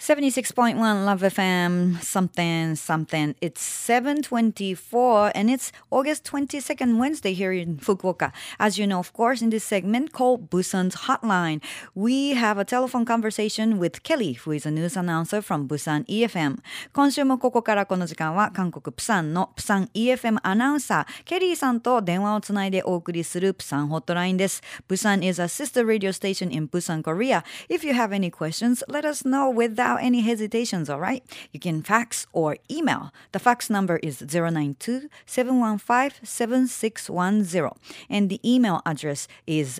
76.1 Love FM something something. It's 7:24 and it's August 22nd Wednesday here in Fukuoka. As you know, of course, in this segment called Busan's Hotline, we have a telephone conversation with Kelly, who is a news announcer from Busan EFM. 今週もここからこの時間は韓国プサンのプサン EFM アナウンサーケリーさんと電話をつないでお送りするプサンホットラインです。Busan is a sister radio station in Busan, Korea. If you have any questions, let us know without any hesitations, all right? You can fax or email. The fax number is 092-715-7610. And the email address is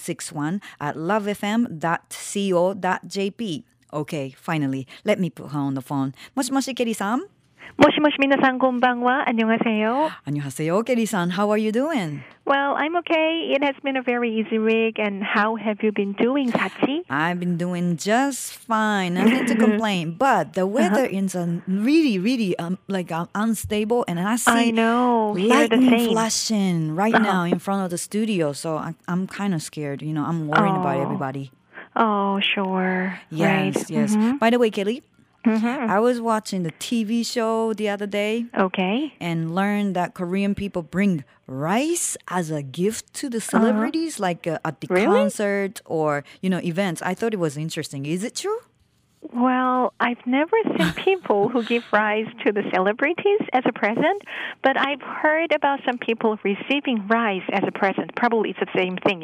761@lovefm.co.jp. Okay, finally, let me put her on the phone. もしもし、ケリーさん。 もしもし皆さんこんばんは。안녕하세요. 안녕하세요, Kelly-san. How are you doing? Well, I'm okay. It has been a very easy week. And how have you been doing, Sachi? I've been doing just fine. Nothing to complain. But the weather is really unstable. And I see lightning flashing right now in front of the studio. So I'm kind of scared. You know, I'm worried about everybody. Oh, sure. Yes, right. yes. By the way, Kelly, I was watching the TV show the other day. Okay. And learned that Korean people bring rice as a gift to the celebrities, like at the concert or, events. I thought it was interesting. Is it true? Well, I've never seen people who give rice to the celebrities as a present, but I've heard about some people receiving rice as a present. Probably it's the same thing,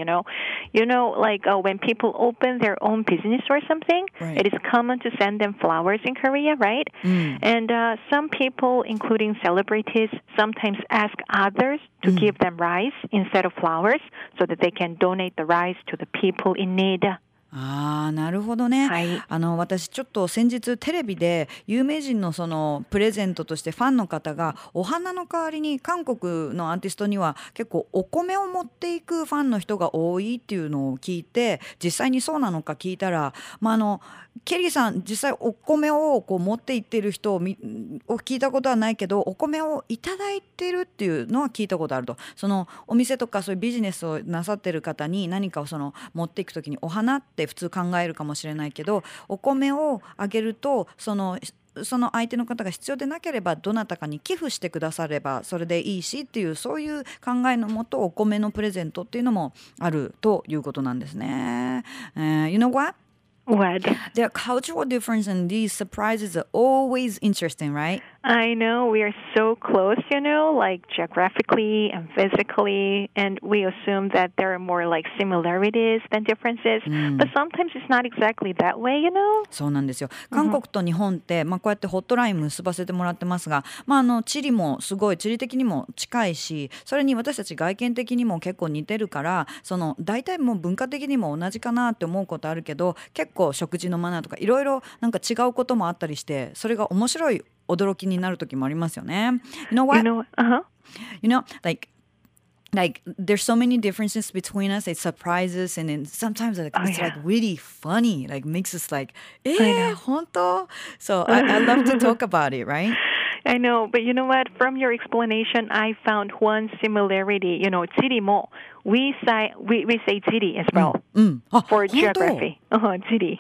when people open their own business or something, right. It is common to send them flowers in Korea, right? And some people, including celebrities, sometimes ask others to give them rice instead of flowers so that they can donate the rice to the people in need. なるほどね、 はい、 私ちょっと先日テレビで有名人のそのプレゼントとしてファンの方がお花の代わりに韓国のアーティストには結構お米を持っていくファンの人が多いっていうのを聞いて、実際にそうなのか聞いたら、ケリーさん実際お米をこう持っていってる人を聞いたことはないけど、お米をいただいてるっていうのは聞いたことあると。そのお店とかそういうビジネスをなさってる方に何かをその持っていくときにお花って普通考えるかもしれないけど、お米をあげるとその相手の方が必要でなければどなたかに寄付してくださればそれでいいしっていう、そういう考えのもとお米のプレゼントっていうのもあるということなんですね。You know what? What? The cultural difference in these surprises are always interesting, right? I know. We are so close, like geographically and physically, and we assume that there are more like similarities than differences. But sometimes it's not exactly that way, そうなんですよ。韓国と日本って、こうやってホットライン結ばせてもらってますが、地理もすごい地理的にも近いし、それに私たち外見的にも結構似てるから、大体もう文化的にも同じかなって思うことあるけど、結構食事のマナーとかいろいろなんか違うこともあったりして、それが面白い驚きになる時もありますよね。You know what? Like there's so many differences between us. It surprises and then sometimes it's like really funny. Like makes us like, 本当? So I love to talk about it, right? I know, but you know what? From your explanation, I found one similarity. 지리 mo. We say 지리 as well for geography. 지리.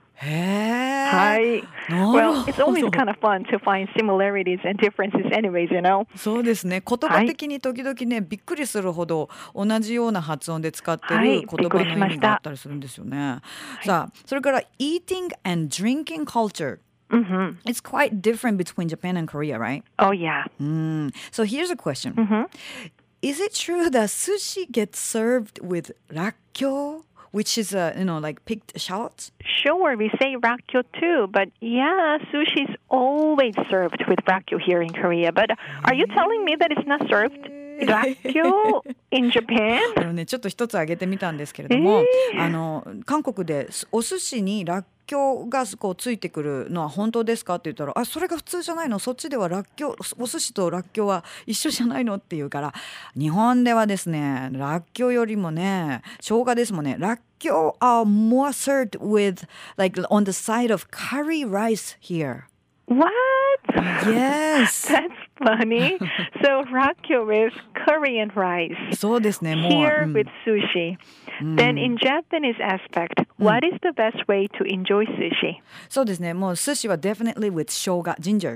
Hi. Well, it's always kind of fun to find similarities and differences anyways, そうですね。言葉的に時々ね、びっくりするほど同じような発音で使ってる言葉の意味があったりするんですよね。さあ、それから eating and drinking culture.Mm-hmm. It's quite different between Japan and Korea, right? Oh, yeah. So here's a question. Is it true that sushi gets served with rakkyo, which is, like picked shallots? Sure, we say rakkyo too. But yeah, sushi is always served with rakkyo here in Korea. But are you telling me that it's not served?rakkyo in Japan? ちょっと一つ挙げてみたんですけれども、韓国でお寿司にラッキョがこうついてくるのは本当ですかって言ったら、それが普通じゃないの、そっちではラッキョ、お寿司とラッキョは一緒じゃないのって言うから、日本ではですね、ラッキョよりもね、生姜ですもんね、ラッキョ are more served with like on the side of curry rice here. What? Yes. That's funny. So rakkyo is Korean rice. そうですね。もう、 Here with sushi. Then in Japanese aspect, what is the best way to enjoy sushi? そうですね。もう寿司は definitely with 生姜 ginger.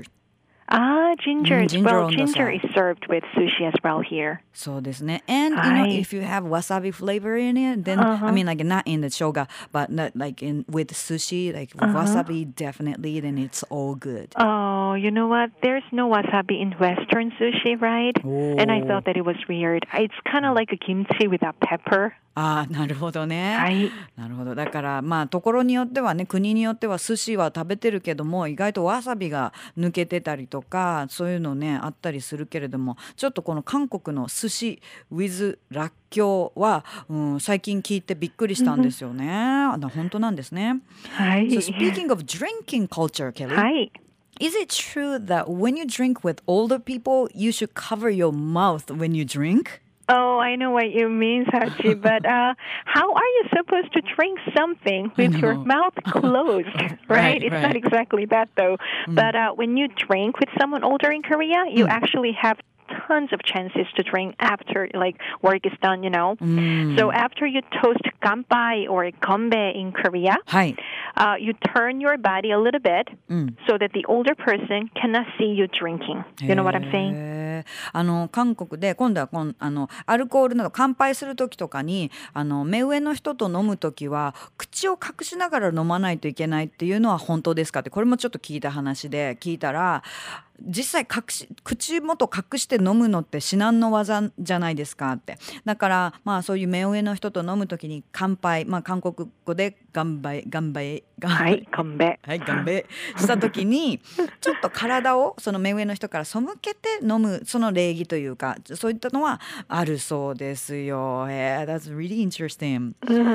Ginger. Ginger Well, on the ginger side. is served with sushi as well here. そうですね。And you know, はい if you have wasabi flavor in it, then I mean like not in the 生姜, but not like in with sushi, like with wasabi definitely, then it's all good. Oh, you know what? There's no wasabi in Western sushi, right? And I thought that it was weird. It's kind of like a kimchi without pepper. ああ、なるほどね。 はい。 なるほど。だからまあところによってはね、国によっては寿司は食べてるけども意外とわさびが抜けてたりとかそういうのねあったりするけれども、ちょっとこの韓国の寿司 with らっきょうは、最近聞いてびっくりしたんですよね。本当なんですね。 はい。 So speaking of drinking culture, Kelly. はい。 Is it true that when you drink with older people, you should cover your mouth when you drink? Oh, I know what you mean, Sachi, but how are you supposed to drink something with your mouth closed, right? It's not exactly that, though. But when you drink with someone older in Korea, you actually have tons of chances to drink after like work is done, you know. So after you toast ganpai or gombe in Korea, はい。 you turn your body a little bit so that the older person cannot see you drinking. You know what I'm saying? へー韓国で今度はアルコールなど乾杯する時とかに目上の人と飲む時は口を隠しながら飲まないといけないっていうのは本当ですかって、これもちょっと聞いた話で聞いたら、実際口元隠して飲むのって至難の技じゃないですかって。だからまあそういう目上の人と飲む時に乾杯、まあ韓国語で乾杯はい、乾杯。 はい、乾杯した時にちょっと体をその目上の人から背けて飲むその礼儀というかそういったのはあるそうですよ。That's really interesting.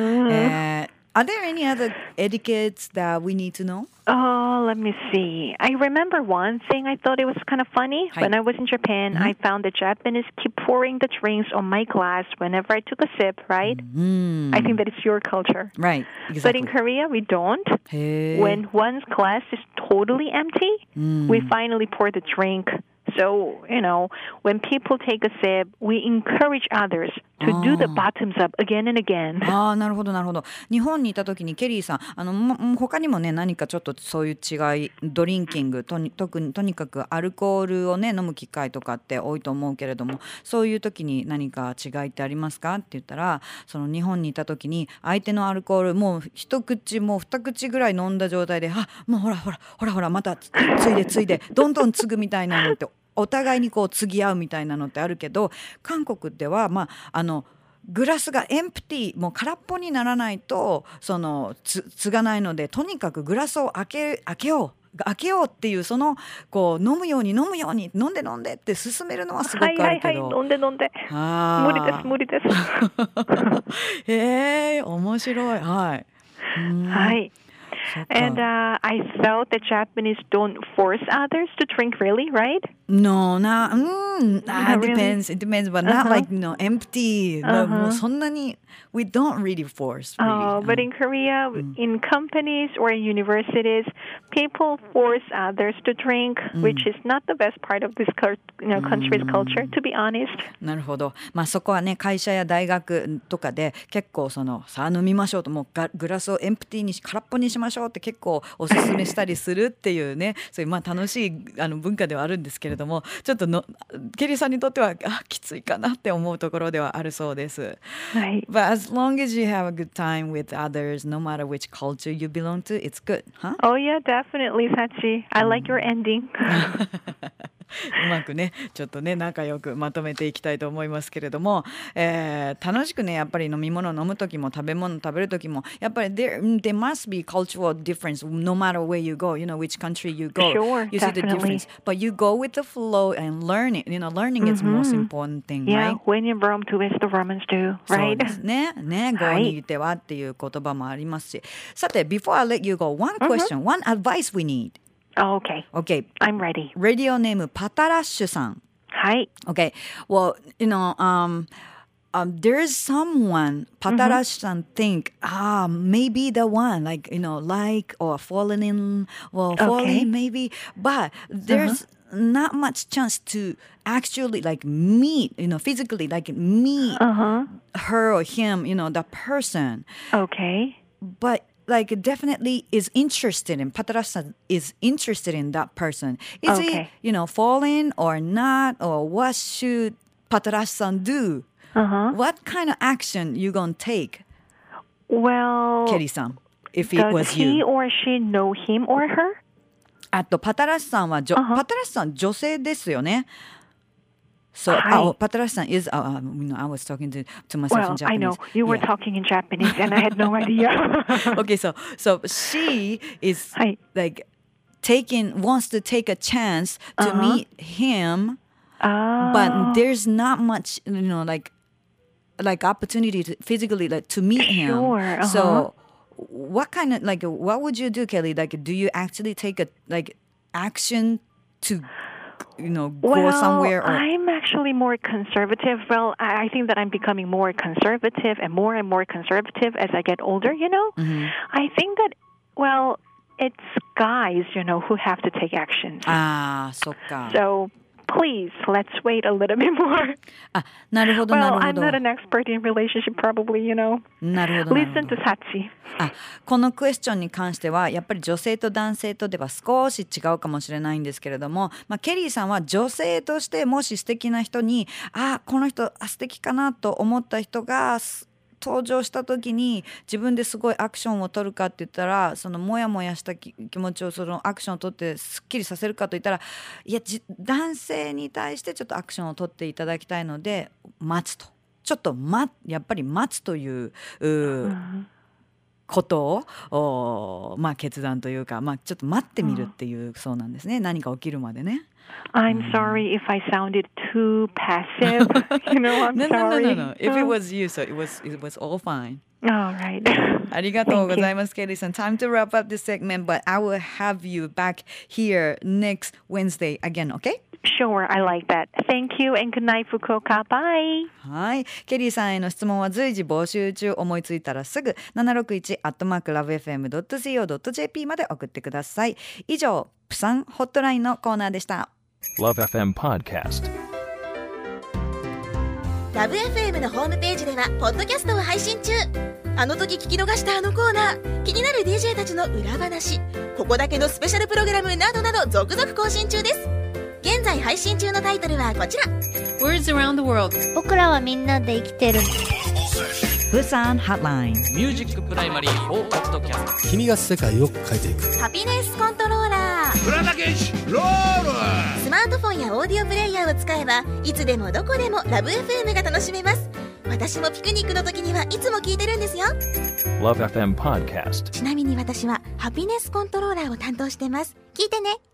Are there any other etiquettes that we need to know? Oh, let me see. I remember one thing I thought it was kind of funny. When I was in Japan, I found the Japanese keep pouring the drinks on my glass whenever I took a sip, right? I think that it's your culture. Right, But exactly. in Korea, we don't. へー When one's glass is totally empty, we finally pour the drink. So, you know, when people take a sip, we encourage others to do the bottoms up again and again. ああ、なるほどなるほど。日本にいた時にケリーさん他にもね何かちょっとそういう違いドリンキングとにかくアルコールをね飲む機会とかって多いと思うけれども、そういう時に何か違いってありますかって言ったら、その日本にいた時に相手のアルコールもう一口もう二口ぐらい飲んだ状態で、もうほらまたついでどんどん継ぐみたいなのってお互いにこう継ぎ合うみたいなのってあるけど、韓国ではグラスがエンプティーもう空っぽにならないと継がないので、とにかくグラスを開けようっていうこう飲むように飲んでって勧めるのはすごくあるけど、 はいはいはい、飲んで無理です。 へえ、面白い。はい。 はい。And I felt that Japanese don't force others to drink, really, right? No, depends. Really? It depends, but not like empty. もうそんなに we don't really force. Really. But in Korea, in companies or in universities, people force others to drink, which is not the best part of this country's culture, to be honest. なるほど。まあそこはね会社や大学とかで結構さあ飲みましょうと、もうグラスをエンプティーに空っぽにしましょうって結構おすすめしたりするっていうね、そういうまあ楽しい文化ではあるんですけれども、ちょっとケリーさんにとってはきついかなって思うところではあるそうです。 はい。 But as long as you have a good time with others, no matter which culture you belong to, it's good, huh? Oh yeah, definitely, Sachi. I like your ending. うまくねちょっとね仲良くまとめていきたいと思いますけれども、楽しくねやっぱり飲み物を飲む時も食べ物食べる時もやっぱり there must be cultural difference no matter where you go, you know, which country you go. Sure, you see the definitely. difference, but you go with the flow and learn it. You know, learning is the most important thing, Yeah, right? when in Rome, do as the Romans do, そう right? ですね。郷にいてはっていう言葉もありますし。さて、before I let you go, one question, one advice we need. Oh, okay. Okay. I'm ready. Radio name パタラッシュさん。 はい。 Okay. Well, you know, there's someone Patarash-san think maybe the one like like or falling in or falling maybe, but there's not much chance to actually like meet physically like meet her or him the person. Okay. But like definitely is interested in Patarash-san is interested in that person. Is he falling or not, or what should Patarash-san do? What kind of action you gonna take? Well, Kelly-san, if it was you. Does he or she know him or her? あとパタラッシさんはパタラッシさん女性ですよね。So, Patarash-san is, I was talking to myself in Japanese. I know. You were talking in Japanese and I had no idea. Okay, so she is like wants to take a chance to meet him, but there's not much, like opportunity to physically to meet him. Sure. So, what kind of, what would you do, Kelly? Like, do you actually take a, action to go somewhere? Or... I'm actually more conservative. Well, I think that I'm becoming more conservative and more conservative as I get older, I think that, it's guys, who have to take action. So, please, let's wait a little bit more. なるほど、なるほど。 I'm not an expert in relationship, probably, なるほど。 Listen to Sachi. このクエスチョンに関してはやっぱり女性と男性とでは少し違うかもしれないんですけれども、ケリーさんは女性としてもし素敵な人にこの人素敵かなと思った人が登場した時に自分ですごいアクションを取るかって言ったら、そのモヤモヤした気持ちをそのアクションを取ってすっきりさせるかと言ったら、いや男性に対してちょっとアクションを取っていただきたいので待つと、ちょっとやっぱり待つということを決断というか、ちょっと待ってみるっていうそうなんですね。何か起きるまでね。 I'm sorry if I sounded too passive. I'm sorry. No. If it was you, so it was all fine. All right. ありがとうございます、ケリーさん。Time to wrap up this segment, but I will have you back here next Wednesday again, okay? Sure, I like that. Thank you and good night, Fukuoka. Bye. はい。ケリーさんへの質問は随時募集中。思いついたらすぐ 761@lovefm.co.jp まで送ってください。以上、プサンホットラインのコーナーでした。 Love FM Podcast。 ラブ FM のホームページではポッドキャストを配信中。あの時聞き逃したあのコーナー、気になる DJ たちの裏話、ここだけのスペシャルプログラムなどなど続々更新中です。現在配信中のタイトルはこちら。 Words around the world。 僕らはみんなで生きてる。 プサンホットライン。 ミュージックプライマリー4ポッドキャスト。 君が世界を変えていく。 ハピネスコントローラー。 浦田健士ロール。 スマートフォンやオーディオプレイヤーを使えばいつでもどこでもラブ FM が楽しめます。私もピクニックの時にはいつも聞いてるんですよ。 Love FM Podcast。 ちなみに私はハピネスコントローラーを担当してます。聞いてね。